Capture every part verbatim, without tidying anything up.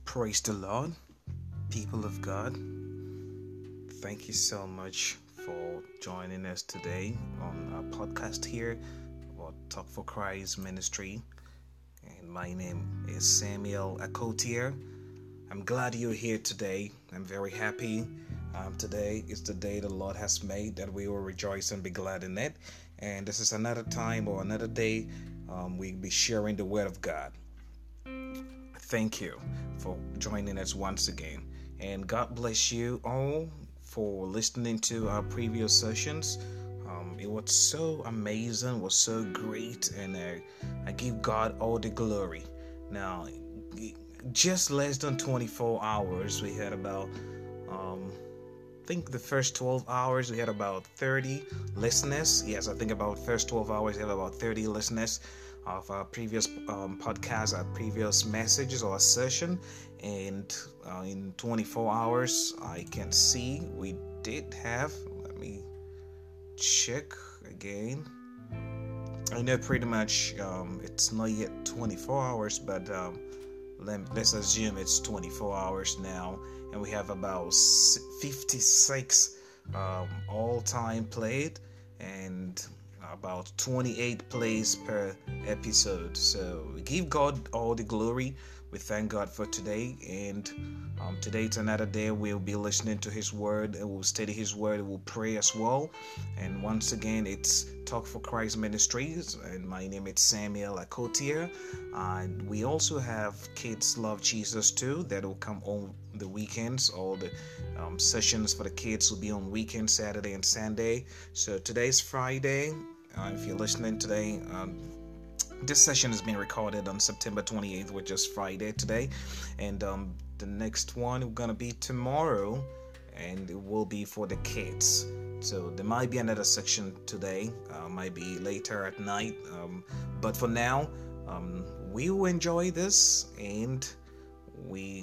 Praise the Lord, people of God. Thank you so much for joining us today on our podcast here about Talk for Christ Ministry. And my name is Samuel Akotier. I'm glad you're here today. I'm very happy. Um, today is the day the Lord has made, that we will rejoice and be glad in it. And this is another time or another day um, we'll be sharing the Word of God. Thank you for joining us once again. And God bless you all for listening to our previous sessions. Um, it was so amazing, was so great, and I, I give God all the glory. Now, just less than twenty-four hours, we had about, um, I think the first twelve hours, we had about thirty listeners. Yes, I think about first twelve hours, we had about thirty listeners of our previous um, podcast, our previous messages or session, and uh, in twenty-four hours I can see we did have, let me check again. I know pretty much um, it's not yet twenty-four hours, but um, let, let's assume it's twenty-four hours now, and we have about fifty-six um, all-time played and about twenty-eight plays per episode. So we give God all the glory. We thank God for today, and um, today it's another day. We'll be listening to His Word, and we'll study His Word, we'll pray as well. And once again, it's Talk for Christ Ministries, and my name is Samuel Akotier. And we also have Kids Love Jesus too, that will come on the weekends. All the um, sessions for the kids will be on weekends, Saturday and Sunday. So today's Friday. Uh, if you're listening today, um, this session is being recorded on September twenty-eighth, which is Friday today, and um, the next one is gonna be tomorrow, and it will be for the kids. So there might be another section today, uh, might be later at night, um, but for now, um, we will enjoy this, and we,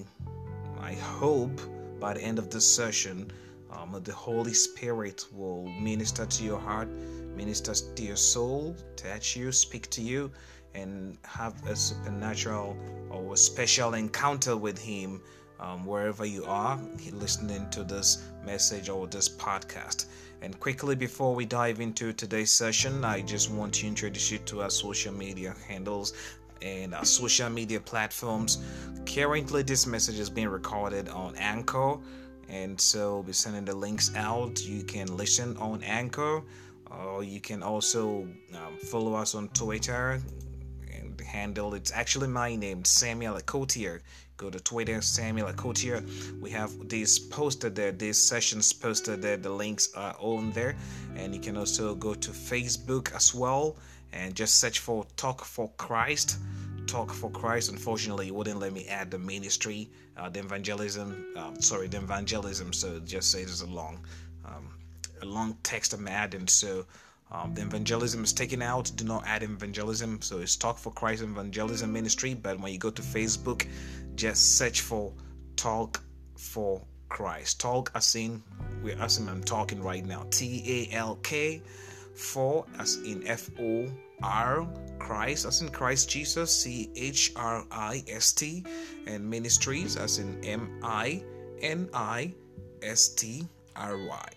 I hope, by the end of this session, um, the Holy Spirit will minister to your heart, minister to your soul, touch you, speak to you, and have a supernatural or a special encounter with Him um, wherever you are listening to this message or this podcast. And quickly, before we dive into today's session, I just want to introduce you to our social media handles and our social media platforms. Currently, this message is being recorded on Anchor, and so we'll be sending the links out. You can listen on Anchor, or you can also um, follow us on Twitter, and the handle, it's actually my name, Samuel Akotier. Go to Twitter, Samuel Akotier. We have these posted there, these sessions posted there. The links are on there, and you can also go to Facebook as well and just search for Talk for Christ. Talk for Christ. Unfortunately, it wouldn't let me add the ministry, uh, the evangelism. Um, sorry, the evangelism. So it just says it's a long, um, a long text I'm adding. So um, the evangelism is taken out. Do not add evangelism. So it's Talk for Christ Evangelism Ministry. But when you go to Facebook, just search for Talk for Christ. Talk as in we're as in I'm talking right now. T A L K. For as in F O R, Christ as in Christ Jesus, C H R I S T, and ministries as in M I N I S T R Y.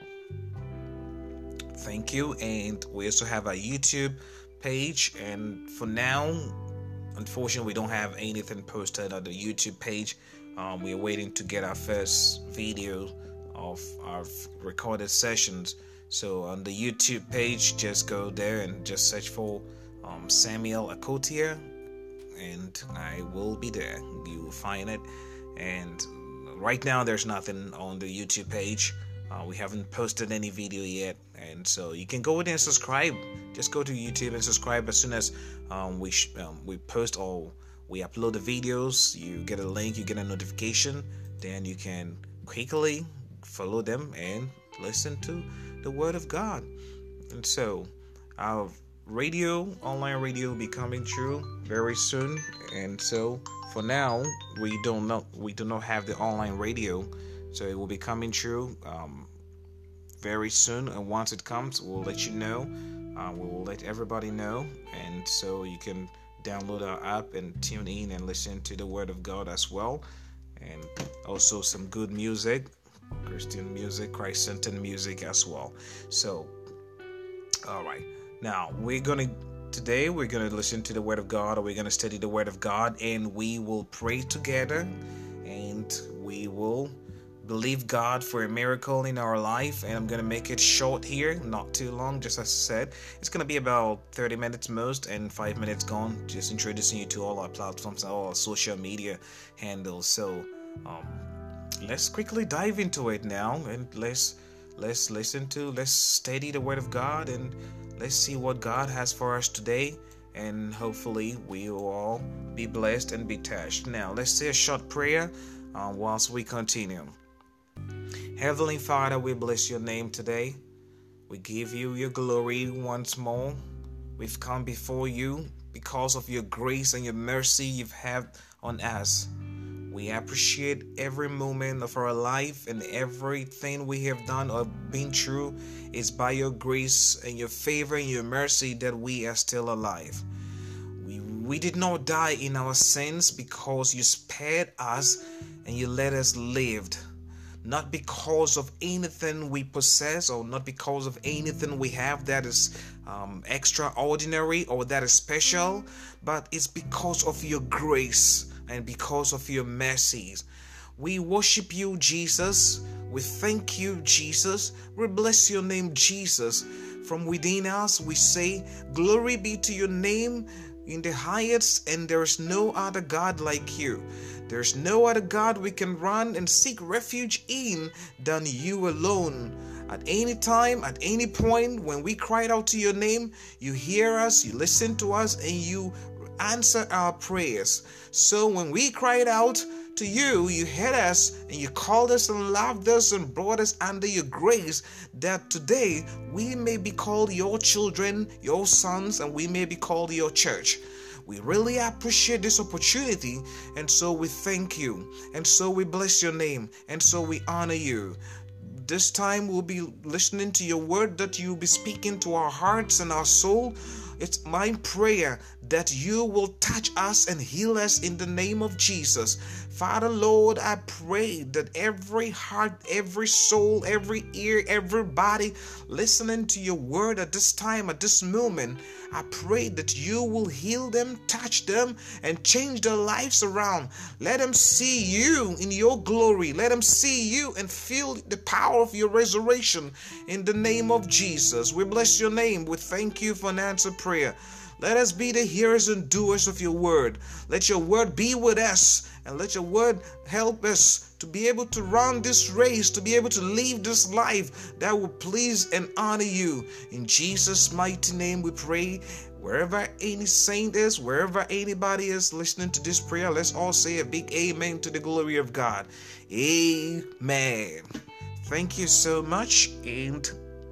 Thank you. And we also have a YouTube page, and for now, unfortunately, we don't have anything posted on the YouTube page. Um, we're waiting to get our first video of our recorded sessions. So on the YouTube page, just go there and just search for um, Samuel Akotier, and I will be there. You will find it. And right now, there's nothing on the YouTube page. Uh, we haven't posted any video yet, and so you can go in and subscribe. Just go to YouTube and subscribe as soon as um, we sh- um, we post or we upload the videos. You get a link, you get a notification, then you can quickly follow them and listen to the Word of God. And so our radio, online radio, will be coming true very soon. And so for now, we don't know, we do not have the online radio, so it will be coming true um, very soon. And once it comes, we'll let you know. Uh, we will let everybody know, and so you can download our app and tune in and listen to the Word of God as well. And also some good music, Christian music, Christ-centered music as well. So, all right. Now, we're going to, today we're going to listen to the Word of God, or we're going to study the Word of God, and we will pray together, and we will believe God for a miracle in our life. And I'm going to make it short here, not too long, just as I said. It's going to be about thirty minutes most, and five minutes gone, just introducing you to all our platforms, all our social media handles. So um, let's quickly dive into it now, and let's let's listen to, let's study the Word of God, and let's see what God has for us today. And hopefully we will all be blessed and be touched. Now let's say a short prayer uh, whilst we continue. Heavenly Father, we bless your name today. We give you your glory once more. We've come before you because of your grace and your mercy you've had on us. We appreciate every moment of our life, and everything we have done or been through is by your grace and your favor and your mercy that we are still alive. We, we did not die in our sins because you spared us and you let us live. Not because of anything we possess, or not because of anything we have that is um, extraordinary or that is special, but it's because of your grace and because of your mercies. We worship you, Jesus. We thank you, Jesus. We bless your name, Jesus. From within us, we say, glory be to your name in the highest, and there is no other God like you. There's no other God we can run and seek refuge in than you alone. At any time, at any point, when we cried out to your name, you hear us, you listen to us, and you answer our prayers. So when we cried out to you, you heard us, and you called us and loved us and brought us under your grace, that today we may be called your children, your sons, and we may be called your church. We really appreciate this opportunity, and so we thank you, and so we bless your name, and so we honor you. This time we'll be listening to your word, that you'll be speaking to our hearts and our soul. It's my prayer that you will touch us and heal us in the name of Jesus. Father, Lord, I pray that every heart, every soul, every ear, every body listening to your word at this time, at this moment, I pray that you will heal them, touch them, and change their lives around. Let them see you in your glory. Let them see you and feel the power of your resurrection in the name of Jesus. We bless your name. We thank you for an answered prayer. Let us be the hearers and doers of your word. Let your word be with us, and let your word help us to be able to run this race, to be able to live this life that will please and honor you. In Jesus' mighty name we pray. Wherever any saint is, wherever anybody is listening to this prayer, let's all say a big amen to the glory of God. Amen. Thank you so much, and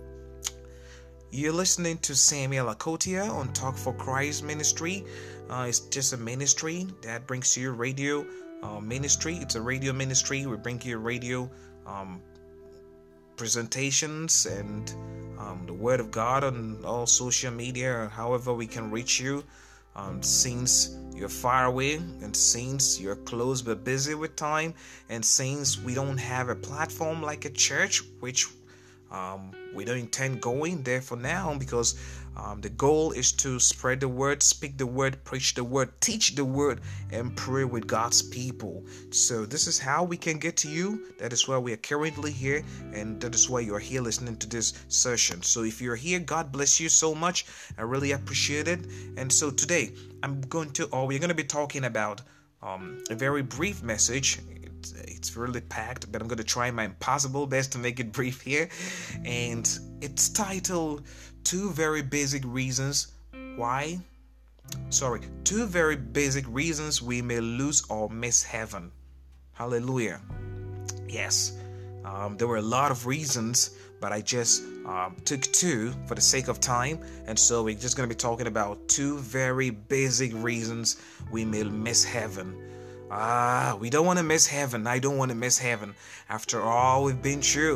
you're listening to Samuel Akotia on Talk for Christ Ministry. Uh, it's just a ministry that brings you radio uh, ministry. It's a radio ministry. We bring you radio um, presentations and um, the Word of God on all social media, or however we can reach you. Um, since you're far away, and since you're close but busy with time, and since we don't have a platform like a church, which Um, we don't intend going there for now, because um, the goal is to spread the word, speak the word, preach the word, teach the word, and pray with God's people. So this is how we can get to you. That is why we are currently here, and that is why you are here listening to this session. So if you're here, God bless you so much. I really appreciate it. And so today I'm going to, or we're going to be talking about um, a very brief message. It's really packed, but I'm going to try my impossible best to make it brief here. And it's titled Two Very Basic Reasons Why, sorry, Two Very Basic Reasons We May Lose or Miss Heaven. Hallelujah. Yes, um, there were a lot of reasons, but I just um, took two for the sake of time. And so we're just going to be talking about two very basic reasons we may miss heaven. Ah, we don't want to miss heaven. I don't want to miss heaven. After all we've been through,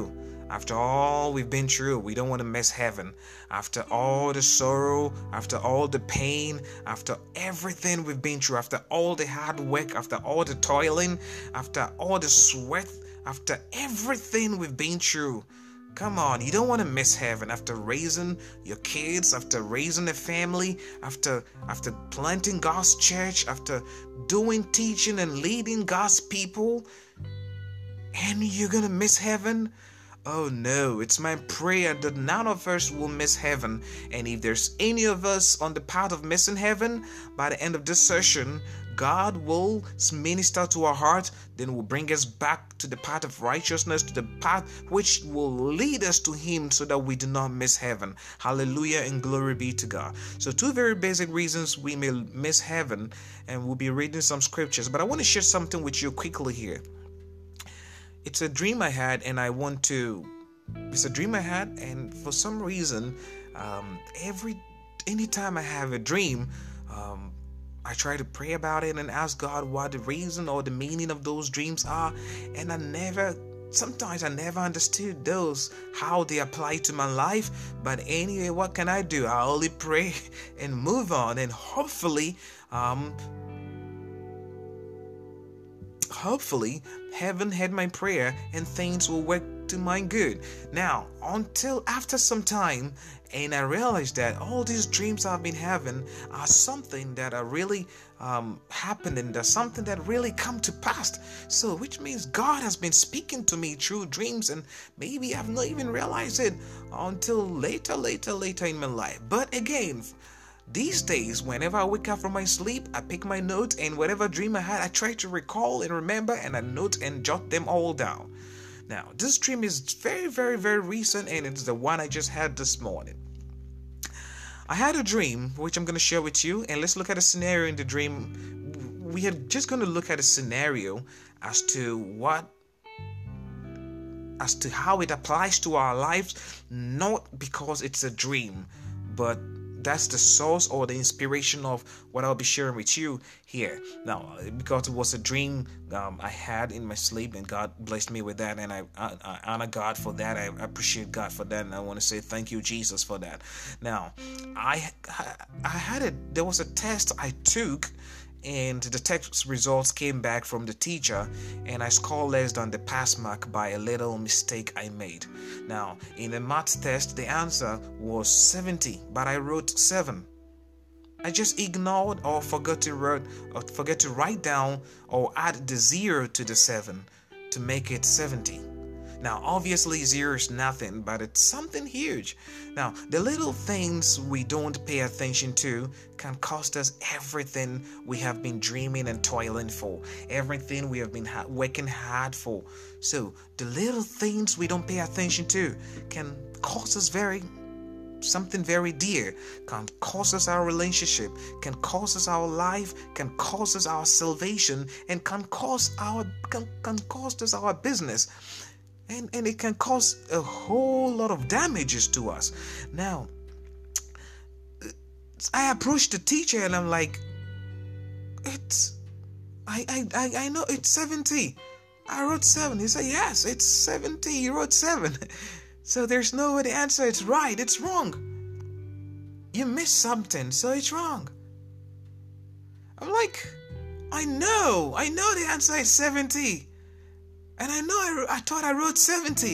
After all we've been through, we don't want to miss heaven. After all the sorrow, after all the pain, after everything we've been through, after all the hard work, after all the toiling, after all the sweat, after everything we've been through, come on, you don't want to miss heaven. After raising your kids, after raising a family, after after planting God's church, after doing teaching and leading God's people, and you're gonna miss heaven? Oh no, it's my prayer that none of us will miss heaven. And if there's any of us on the path of missing heaven, by the end of this session, God will minister to our heart, then will bring us back to the path of righteousness, to the path which will lead us to Him so that we do not miss heaven. Hallelujah and glory be to God. So two very basic reasons we may miss heaven, and we'll be reading some scriptures. But I want to share something with you quickly here. It's a dream I had, and I want to. It's a dream I had, and for some reason, um, every anytime I have a dream, um, I try to pray about it and ask God what the reason or the meaning of those dreams are, and I never. Sometimes I never understood those, how they apply to my life. But anyway, what can I do? I only pray and move on, and hopefully, um. Hopefully, heaven heard my prayer and things will work to my good. Now, until after some time, and I realized that all these dreams I've been having are something that are really um, happening. There's something that really come to pass. So, which means God has been speaking to me through dreams, and maybe I've not even realized it until later, later, later in my life. But again, these days, whenever I wake up from my sleep, I pick my notes, and whatever dream I had, I try to recall and remember, and I note and jot them all down. Now, this dream is very, very, very recent, and it's the one I just had this morning. I had a dream, which I'm going to share with you, and let's look at a scenario in the dream. We are just going to look at a scenario as to what, as to how it applies to our lives, not because it's a dream, but that's the source or the inspiration of what I'll be sharing with you here. Now, because it was a dream um, I had in my sleep, and God blessed me with that, and I, I, I honor God for that. I appreciate God for that, and I want to say thank you, Jesus, for that. Now, I I had a there was a test I took, and the test results came back from the teacher, and I scored less than the pass mark by a little mistake I made. Now, in the math test, the answer was seventy, but I wrote seven. I just ignored or forgot to write or forget to write down or add the zero to the seven to make it seventy. Now, obviously, zero is nothing, but it's something huge. Now, the little things we don't pay attention to can cost us everything we have been dreaming and toiling for, everything we have been ha- working hard for. So, the little things we don't pay attention to can cost us very something very dear, can cost us our relationship, can cost us our life, can cost us our salvation, and can cost our can, can cost us our business. And, and it can cause a whole lot of damages to us. Now, I approached the teacher and I'm like, it's, I, I, I, I know it's seventy. I wrote seven. He said, yes, it's seventy. You wrote seven. So there's no way the answer is right. It's wrong. You missed something, so it's wrong. I'm like, I know. I know the answer is seventy. And I know I, I thought I wrote seventy.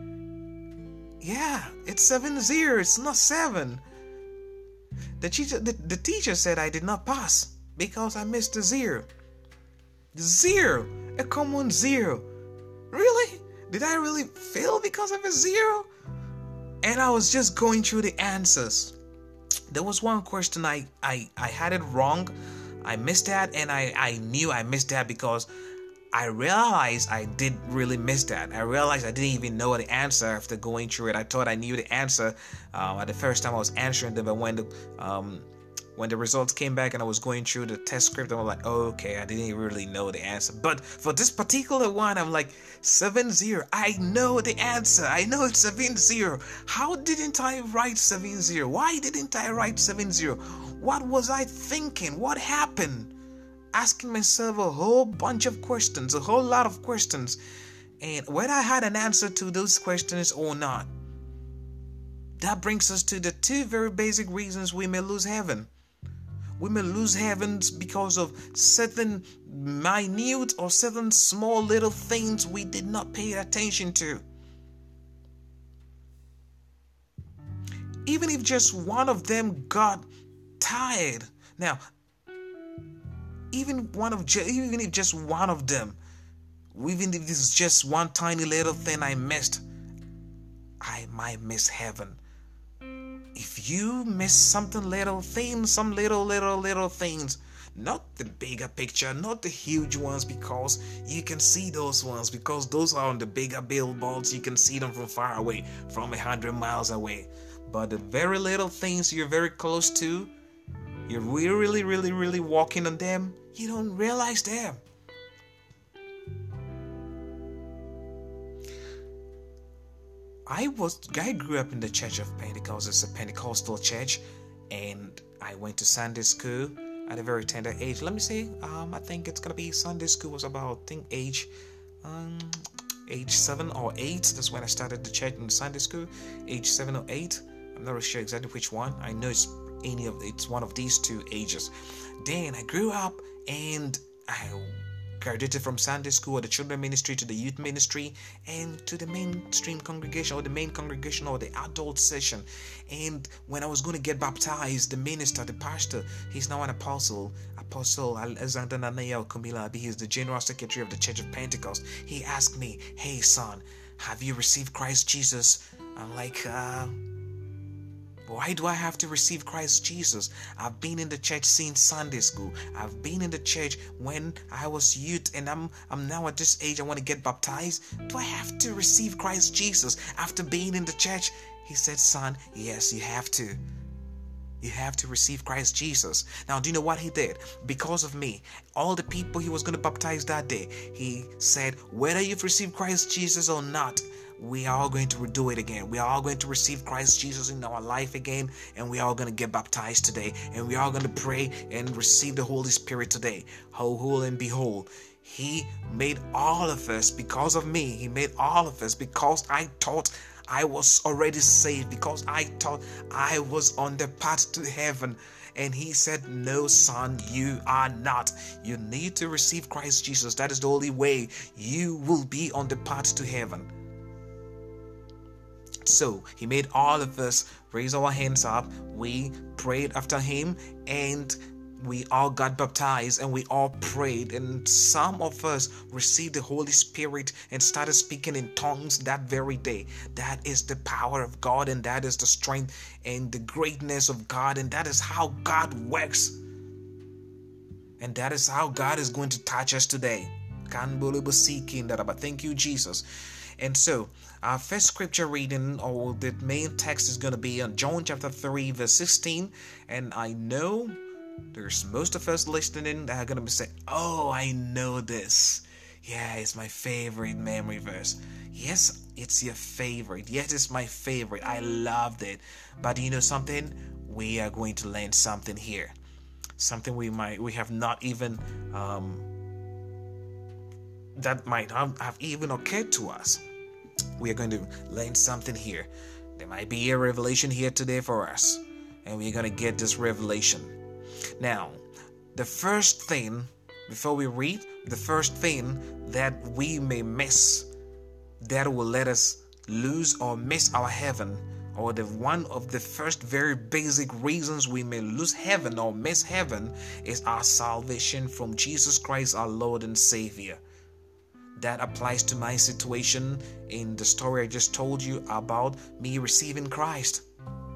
Yeah, it's seven zero. It's not seven. The teacher, the, the teacher said I did not pass because I missed a zero. Zero. A common zero. Really? Did I really fail because of a zero? And I was just going through the answers. There was one question I, I, I had it wrong. I missed that, and I, I knew I missed that because I realized I did really miss that. I realized I didn't even know the answer after going through it. I thought I knew the answer um, at the first time I was answering them, but when the um, when the results came back and I was going through the test script, I was like, oh, okay, I didn't really know the answer. But for this particular one, I'm like, seven zero. I know the answer. I know it's seven zero. How didn't I write seven zero? Why didn't I write seven zero? What was I thinking? What happened? Asking myself a whole bunch of questions, a whole lot of questions. And whether I had an answer to those questions or not, that brings us to the two very basic reasons we may lose heaven. We may lose heavens because of certain minute or certain small little things we did not pay attention to. Even if just one of them got tired. Now, even one of even if just one of them, even if this is just one tiny little thing I missed, I might miss heaven. If you miss something little things, some little, little, little things, not the bigger picture, not the huge ones, because you can see those ones, because those are on the bigger billboards, you can see them from far away, from a hundred miles away. But the very little things you're very close to, you're really, really, really walking on them, you don't realize them. I was I grew up in the Church of Pentecost. It's a Pentecostal church, and I went to Sunday school at a very tender age. Let me see. Um, I think it's gonna be Sunday school was about I think age, um, age seven or eight. That's when I started the church in Sunday school. Age seven or eight. I'm not really sure exactly which one. I know it's any of it's one of these two ages. Then I grew up and I graduated from Sunday school or the children ministry to the youth ministry and to the mainstream congregation or the main congregation or the adult session. And when I was going to get baptized, the minister, the pastor, he's now an apostle, Apostle Alexander Nanayel Kumilabi, he's the general secretary of the Church of Pentecost. He asked me, "Hey son, have you received Christ Jesus?" I'm like, uh why do I have to receive Christ Jesus? I've been in the church since Sunday school. I've been in the church when I was youth, and I'm I'm now at this age I want to get baptized. Do I have to receive Christ Jesus after being in the church? He said, "Son, yes, you have to. You have to receive Christ Jesus." Now, do you know what he did? Because of me, all the people he was going to baptize that day, he said, whether you've received Christ Jesus or not, we are all going to do it again. We are all going to receive Christ Jesus in our life again, and we are all going to get baptized today, and we are all going to pray and receive the Holy Spirit today. Ho, ho, and behold, he made all of us because of me. He made all of us because I thought I was already saved, because I thought I was on the path to heaven. And he said, "No, son, you are not. You need to receive Christ Jesus. That is the only way you will be on the path to heaven." So he made all of us raise our hands up. We prayed after him, and we all got baptized, and we all prayed, and some of us received the Holy Spirit and started speaking in tongues that very day. That is the power of God, and that is the strength and the greatness of God, and that is how God works, and that is how God is going to touch us today. Thank you, Jesus. And so our first scripture reading, or the main text, is going to be on John chapter three verse sixteen. And I know there's most of us listening that are going to be saying, "Oh, I know this. Yeah, it's my favorite memory verse." Yes, it's your favorite. Yes, it's my favorite. I loved it. But you know something? We are going to learn something here. Something we might we have not even um, that might have, have even occurred to us. We are going to learn something here. There might be a revelation here today for us, and we're going to get this revelation. Now, the first thing, before we read, the first thing that we may miss, that will let us lose or miss our heaven, or the one of the first very basic reasons we may lose heaven or miss heaven, is our salvation from Jesus Christ, our Lord and Savior. That applies to my situation in the story I just told you about me receiving Christ.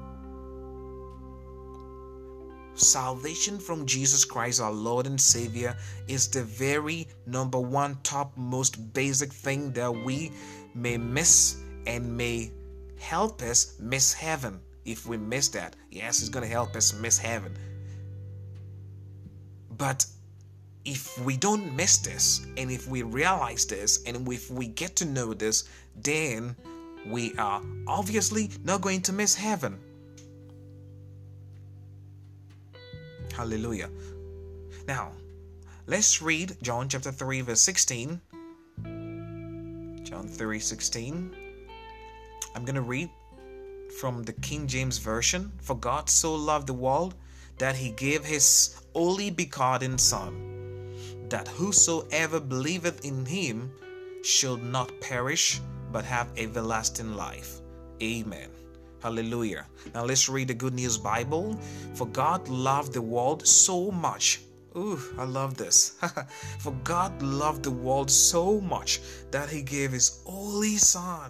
Salvation from Jesus Christ, our Lord and Savior, is the very number one, top, most basic thing that we may miss and may help us miss heaven. If we miss that, yes, it's going to help us miss heaven. But if we don't miss this, and if we realize this, and if we get to know this, then we are obviously not going to miss heaven. Hallelujah. Now, let's read John chapter three verse sixteen. John three sixteen. I'm going to read from the King James Version. For God so loved the world that he gave his only begotten Son, that whosoever believeth in him should not perish, but have everlasting life. Amen. Hallelujah. Now let's read the Good News Bible. For God loved the world so much. Ooh, I love this. For God loved the world so much that he gave his only Son.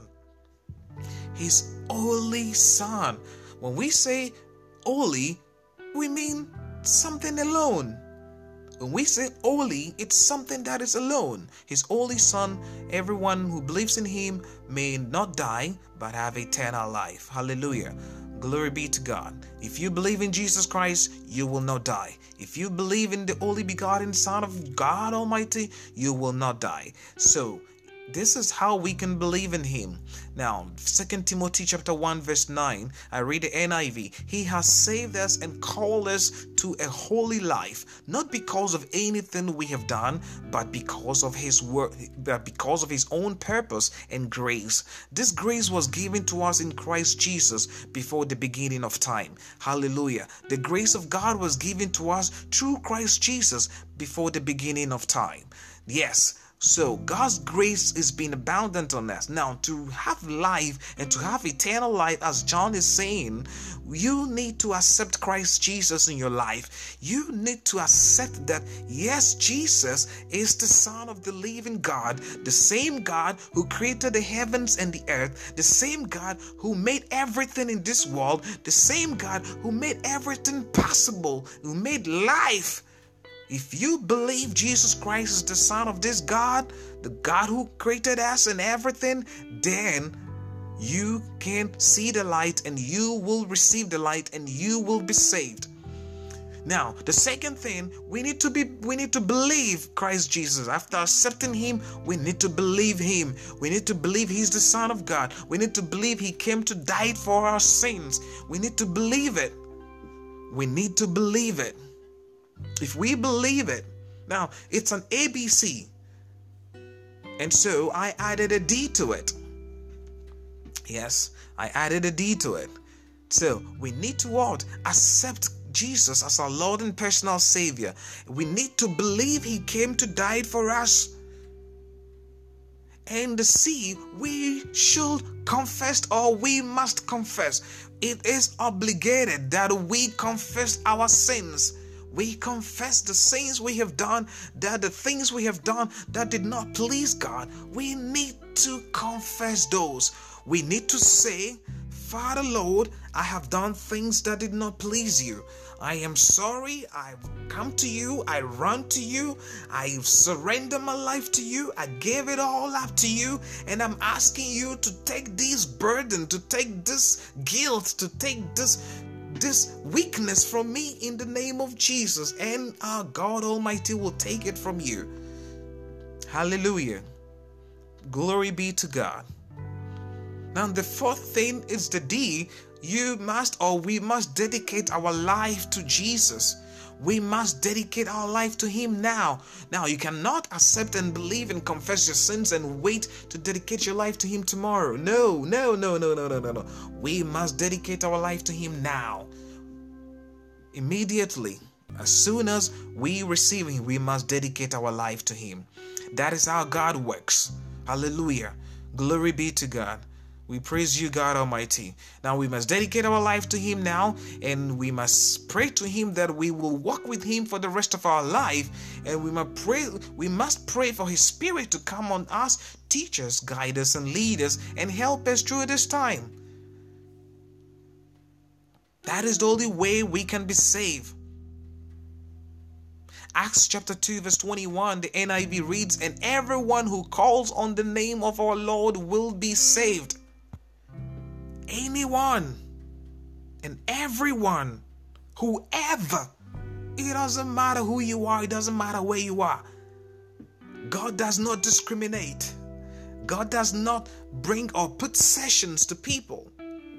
His only Son. When we say only, we mean something alone. When we say only, it's something that is alone. His only Son, everyone who believes in him may not die, but have eternal life. Hallelujah. Glory be to God. If you believe in Jesus Christ, you will not die. If you believe in the only begotten Son of God Almighty, you will not die. So, this is how we can believe in him. Now, Second Timothy chapter one verse nine, I read the N I V. He has saved us and called us to a holy life, not because of anything we have done, but because of his work, but because of his own purpose and grace. This grace was given to us in Christ Jesus before the beginning of time. Hallelujah. The grace of God was given to us through Christ Jesus before the beginning of time. Yes. So God's grace is being abundant on us. Now, to have life and to have eternal life, as John is saying, you need to accept Christ Jesus in your life. You need to accept that, yes, Jesus is the Son of the living God, the same God who created the heavens and the earth, the same God who made everything in this world, the same God who made everything possible, who made life. If you believe Jesus Christ is the Son of this God, the God who created us and everything, then you can see the light and you will receive the light and you will be saved. Now, the second thing, we need to be we need to believe Christ Jesus. After accepting him, we need to believe him. We need to believe he's the Son of God. We need to believe he came to die for our sins. We need to believe it. We need to believe it. If we believe it, now it's an A B C, and so I added a D to it. Yes, I added a D to it. So we need to what? Accept Jesus as our Lord and personal Savior. We need to believe he came to die for us. And the C, we should confess, or we must confess. It is obligated that we confess our sins. We confess the sins we have done, that the things we have done that did not please God. We need to confess those. We need to say, Father Lord, I have done things that did not please you. I am sorry. I've come to you. I run to you. I surrender my life to you. I gave it all up to you. And I'm asking you to take this burden, to take this guilt, to take this this weakness from me in the name of Jesus, and our God Almighty will take it from you. Hallelujah. Glory be to God. Now the fourth thing is the D. You must, or we must dedicate our life to Jesus. We must dedicate our life to him now. Now, you cannot accept and believe and confess your sins and wait to dedicate your life to him tomorrow. No, no, no, no, no, no, no, no. We must dedicate our life to him now. Immediately, as soon as we receive him, we must dedicate our life to him. That is how God works. Hallelujah. Glory be to God. We praise you, God Almighty. Now we must dedicate our life to him now, and we must pray to him that we will walk with him for the rest of our life. And we must pray, we must pray for his Spirit to come on us, teach us, guide us, and lead us, and help us through this time. That is the only way we can be saved. Acts chapter two verse twenty-one, the N I V reads, and everyone who calls on the name of our Lord will be saved. Anyone and everyone, whoever, it doesn't matter who you are, it doesn't matter where you are. God does not discriminate. God does not bring or put sessions to people.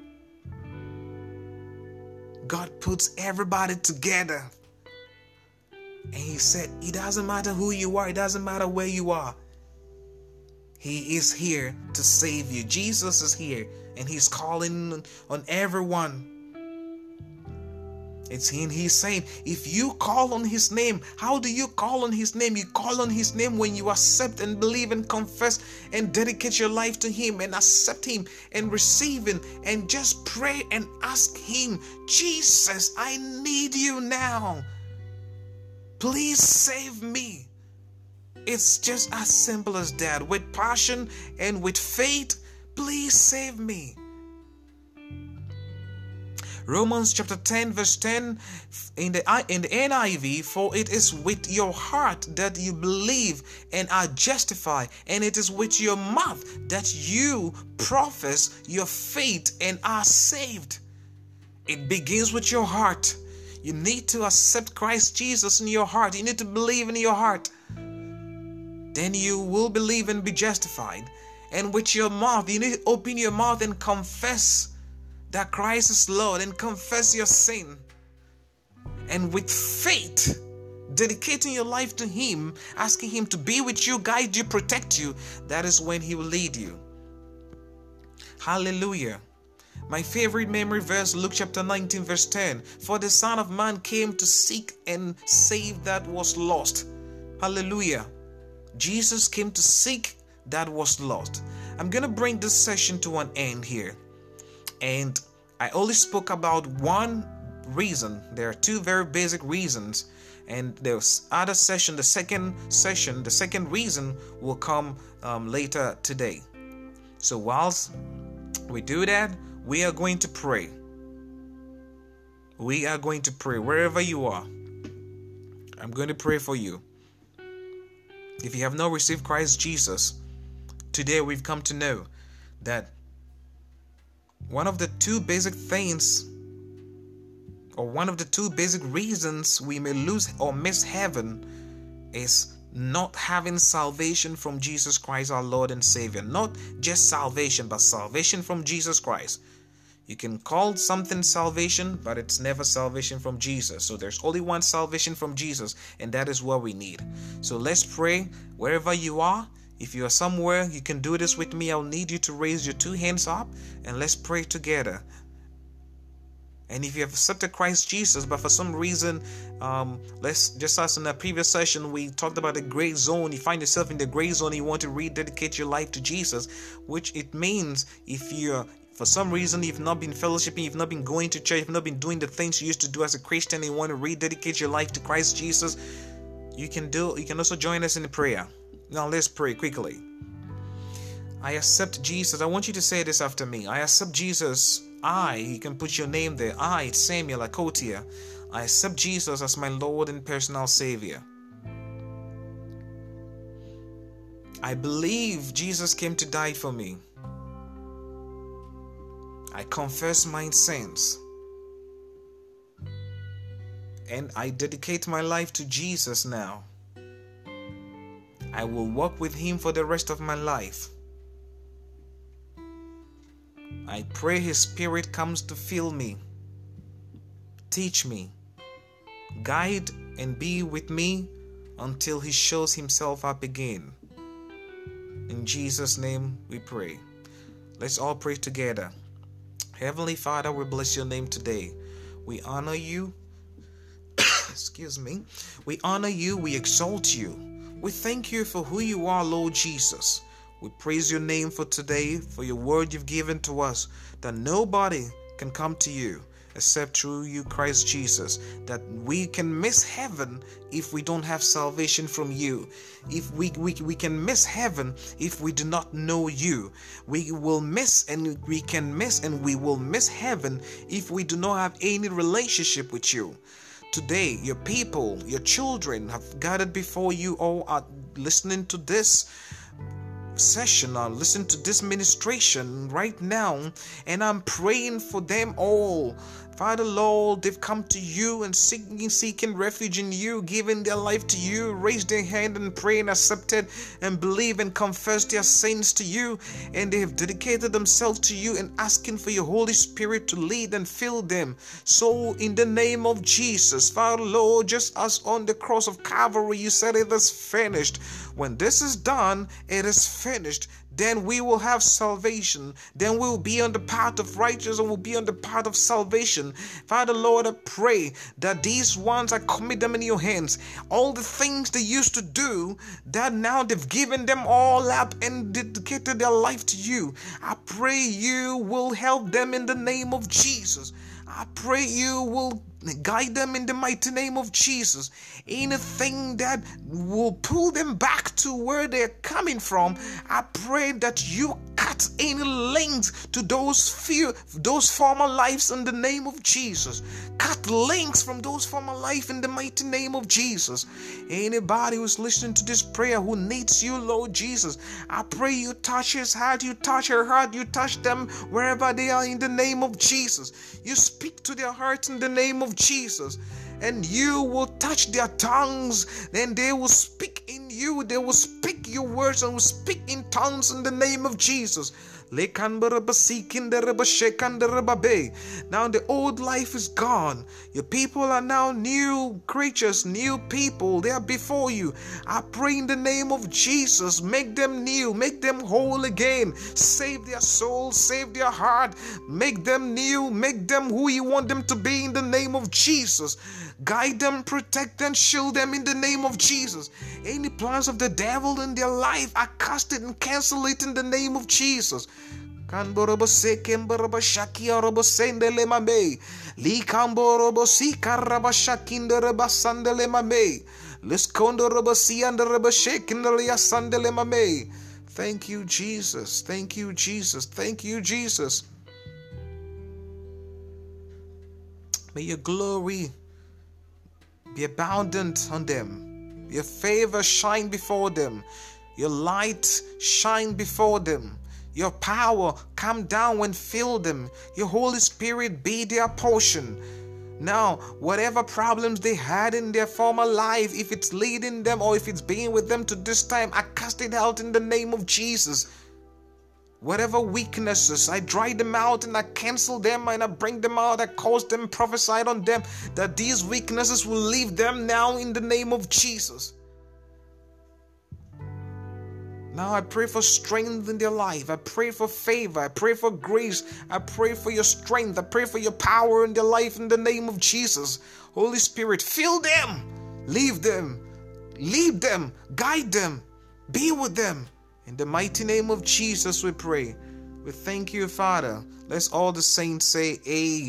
God puts everybody together. And he said, it doesn't matter who you are, it doesn't matter where you are. He is here to save you. Jesus is here, and He's calling on everyone. It's Him. He's saying, if you call on His name, how do you call on His name? You call on His name when you accept and believe and confess and dedicate your life to Him and accept Him and receive Him and just pray and ask Him, Jesus, I need you now. Please save me. It's just as simple as that. With passion and with faith, please save me. Romans chapter ten verse ten in the, in the N I V, for it is with your heart that you believe and are justified, and it is with your mouth that you profess your faith and are saved. It begins with your heart. You need to accept Christ Jesus in your heart. You need to believe in your heart. Then you will believe and be justified. And with your mouth, you need to open your mouth and confess that Christ is Lord and confess your sin. And with faith, dedicating your life to Him, asking Him to be with you, guide you, protect you, that is when He will lead you. Hallelujah. My favorite memory verse, Luke chapter nineteen verse ten. For the Son of Man came to seek and save that was lost. Hallelujah. Jesus came to seek that was lost. I'm going to bring this session to an end here. And I only spoke about one reason. There are two very basic reasons. And there's other session, the second session, the second reason will come um, later today. So whilst we do that, we are going to pray. We are going to pray wherever you are. I'm going to pray for you. If you have not received Christ Jesus, today we've come to know that one of the two basic things, or one of the two basic reasons we may lose or miss heaven, is not having salvation from Jesus Christ, our Lord and Savior. Not just salvation, but salvation from Jesus Christ. You can call something salvation, but it's never salvation from Jesus. So there's only one salvation from Jesus, and that is what we need. So let's pray wherever you are. If you are somewhere, you can do this with me. I'll need you to raise your two hands up, and let's pray together. And if you have accepted Christ Jesus, but for some reason, um, let's just as in the previous session, we talked about the gray zone. You find yourself in the gray zone, you want to rededicate your life to Jesus, which it means if you're for some reason you've not been fellowshipping, you've not been going to church, you've not been doing the things you used to do as a Christian, and you want to rededicate your life to Christ Jesus, you can do. You can also join us in the prayer. Now let's pray quickly. I accept Jesus. I want you to say this after me. I accept Jesus. I, you can put your name there. I, it's Samuel Akotia. I accept Jesus as my Lord and personal Savior. I believe Jesus came to die for me. I confess my sins. And I dedicate my life to Jesus now. I will walk with Him for the rest of my life. I pray His Spirit comes to fill me, teach me, guide and be with me until He shows Himself up again. In Jesus' name we pray. Let's all pray together. Heavenly Father, we bless your name today. We honor you. Excuse me. We honor you. We exalt you. We thank you for who you are, Lord Jesus. We praise your name for today, for your word you've given to us, that nobody can come to you except through you, Christ Jesus, that we can miss heaven if we don't have salvation from you. If we, we, we can miss heaven if we do not know you. We will miss and we can miss and we will miss heaven if we do not have any relationship with you. Today, your people, your children have gathered before you, all are listening to this session, or listen to this ministration right now, and I'm praying for them all. Father Lord, they've come to you and seeking, seeking refuge in you, giving their life to you, raise their hand and pray and accepted and believe and confess their sins to you, and they have dedicated themselves to you and asking for your Holy Spirit to lead and fill them. So in the name of Jesus, Father Lord, just as on the cross of Calvary you said it is finished, when this is done, it is finished. finished, then we will have salvation. Then we'll be on the path of righteousness and we'll be on the path of salvation. Father, Lord, I pray that these ones, I commit them in your hands. All the things they used to do, that now they've given them all up and dedicated their life to you. I pray you will help them in the name of Jesus. I pray you will guide them in the mighty name of Jesus. Anything that will pull them back to where they're coming from, I pray that you cut any links to those fear, those former lives in the name of Jesus. Cut links from those former life in the mighty name of Jesus. Anybody who's listening to this prayer who needs you, Lord Jesus, I pray you touch his heart, you touch her heart, you touch them wherever they are in the name of Jesus. You speak to their hearts in the name of Jesus, and you will touch their tongues, and they will speak in you, they will speak your words and will speak in tongues in the name of Jesus. Now the old life is gone. Your people are now new creatures, new people. They are before you. I pray in the name of Jesus, make them new, make them whole again. Save their soul, save their heart. Make them new, make them who you want them to be in the name of Jesus. Guide them, protect them, shield them in the name of Jesus. Any plans of the devil in their life, I cast it and cancel it in the name of Jesus. Kanborobo sekemborobo shakiorobo sendele mame. Li kamborobo si karaba shakindere basandele mame. Liskondorobo si anderebo shekindele yasandele mame. Thank you, Jesus. Thank you, Jesus. Thank you, Jesus. May your glory be abundant on them. Your favor shine before them. Your light shine before them. Your power come down and fill them. Your Holy Spirit be their portion. Now, whatever problems they had in their former life, if it's leading them or if it's being with them to this time, I cast it out in the name of Jesus. Whatever weaknesses, I dry them out and I cancel them and I bring them out. I cause them, prophesied on them that these weaknesses will leave them now in the name of Jesus. Now I pray for strength in their life. I pray for favor. I pray for grace. I pray for your strength. I pray for your power in their life in the name of Jesus. Holy Spirit, fill them, leave them, lead them, guide them, be with them. In the mighty name of Jesus we pray. We thank you, Father. Let's all the saints say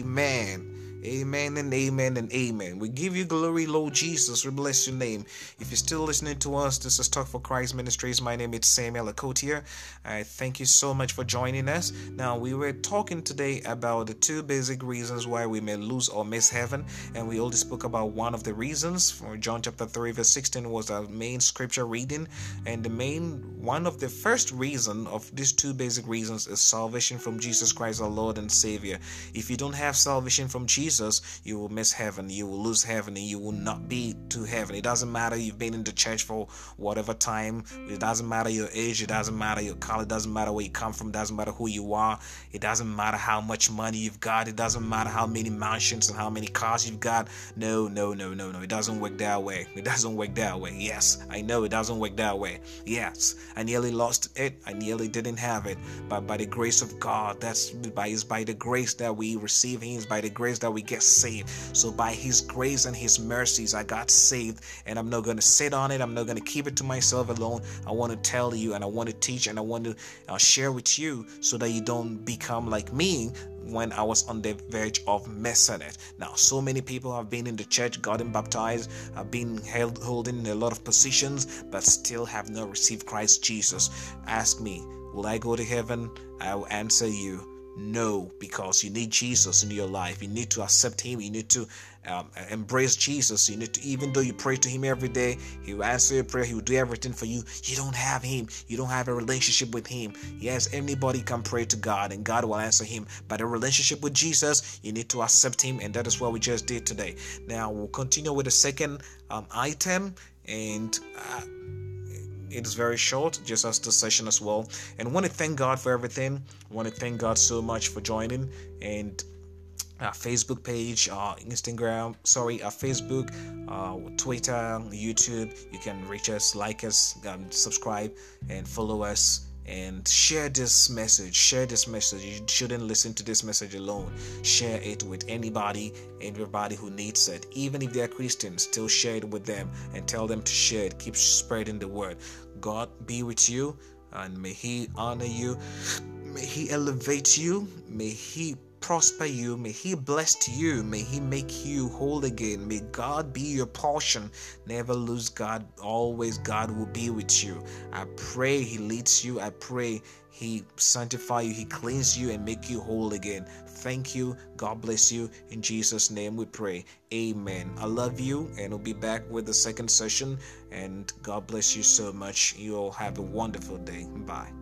amen. Amen and amen and amen. We give you glory, Lord Jesus. We bless your name. If you're still listening to us, this is Talk for Christ Ministries. My name is Samuel Akotier. I thank you so much for joining us. Now, we were talking today about the two basic reasons why we may lose or miss heaven. And we only spoke about one of the reasons. For John chapter three verse sixteen was our main scripture reading. And the main, one of the first reason of these two basic reasons is salvation from Jesus Christ, our Lord and Savior. If you don't have salvation from Jesus, Jesus, you will miss heaven, you will lose heaven, and you will not be to heaven. It doesn't matter you've been in the church for whatever time, it doesn't matter your age, it doesn't matter your color, it doesn't matter where you come from, it doesn't matter who you are, it doesn't matter how much money you've got, it doesn't matter how many mansions and how many cars you've got. No, no, no, no, no, it doesn't work that way. It doesn't work that way. Yes, I know it doesn't work that way. Yes, I nearly lost it, I nearly didn't have it, but by the grace of God, that's by, it's by the grace that we receive Him, it's by the grace that we get saved. So by His grace and His mercies, I got saved, and I'm not going to sit on it. I'm not going to keep it to myself alone. I want to tell you, and I want to teach, and I want to uh, share with you so that you don't become like me when I was on the verge of missing it. Now, so many people have been in the church, gotten baptized, have been held holding a lot of positions, but still have not received Christ Jesus. Ask me, will I go to heaven? I will answer you, no, because you need Jesus in your life. You need to accept Him. You need to um, embrace Jesus. You need to, even though you pray to Him every day, He will answer your prayer. He will do everything for you. You don't have Him. You don't have a relationship with Him. Yes, anybody can pray to God and God will answer him. But a relationship with Jesus, you need to accept Him, and that is what we just did today. Now we'll continue with the second um, item, and uh, it is very short, just as the session as well. And I want to thank God for everything. I want to thank God so much for joining. And our Facebook page, our Instagram, sorry, our Facebook, uh, Twitter, YouTube. You can reach us, like us, um, subscribe, and follow us. and share this message. Share this message. You shouldn't listen to this message alone. Share it with anybody, everybody who needs it. Even if they're Christians, still share it with them and tell them to share it. Keep spreading the word. God be with you, and may He honor you. May He elevate you. May He prosper you. May He bless you. May He make you whole again. May God be your portion. Never lose God. Always God will be with you. I pray He leads you. I pray He sanctify you. He cleans you and make you whole again. Thank you. God bless you. In Jesus' name we pray. Amen. I love you, and we'll be back with the second session. And God bless you so much. You all have a wonderful day. Bye.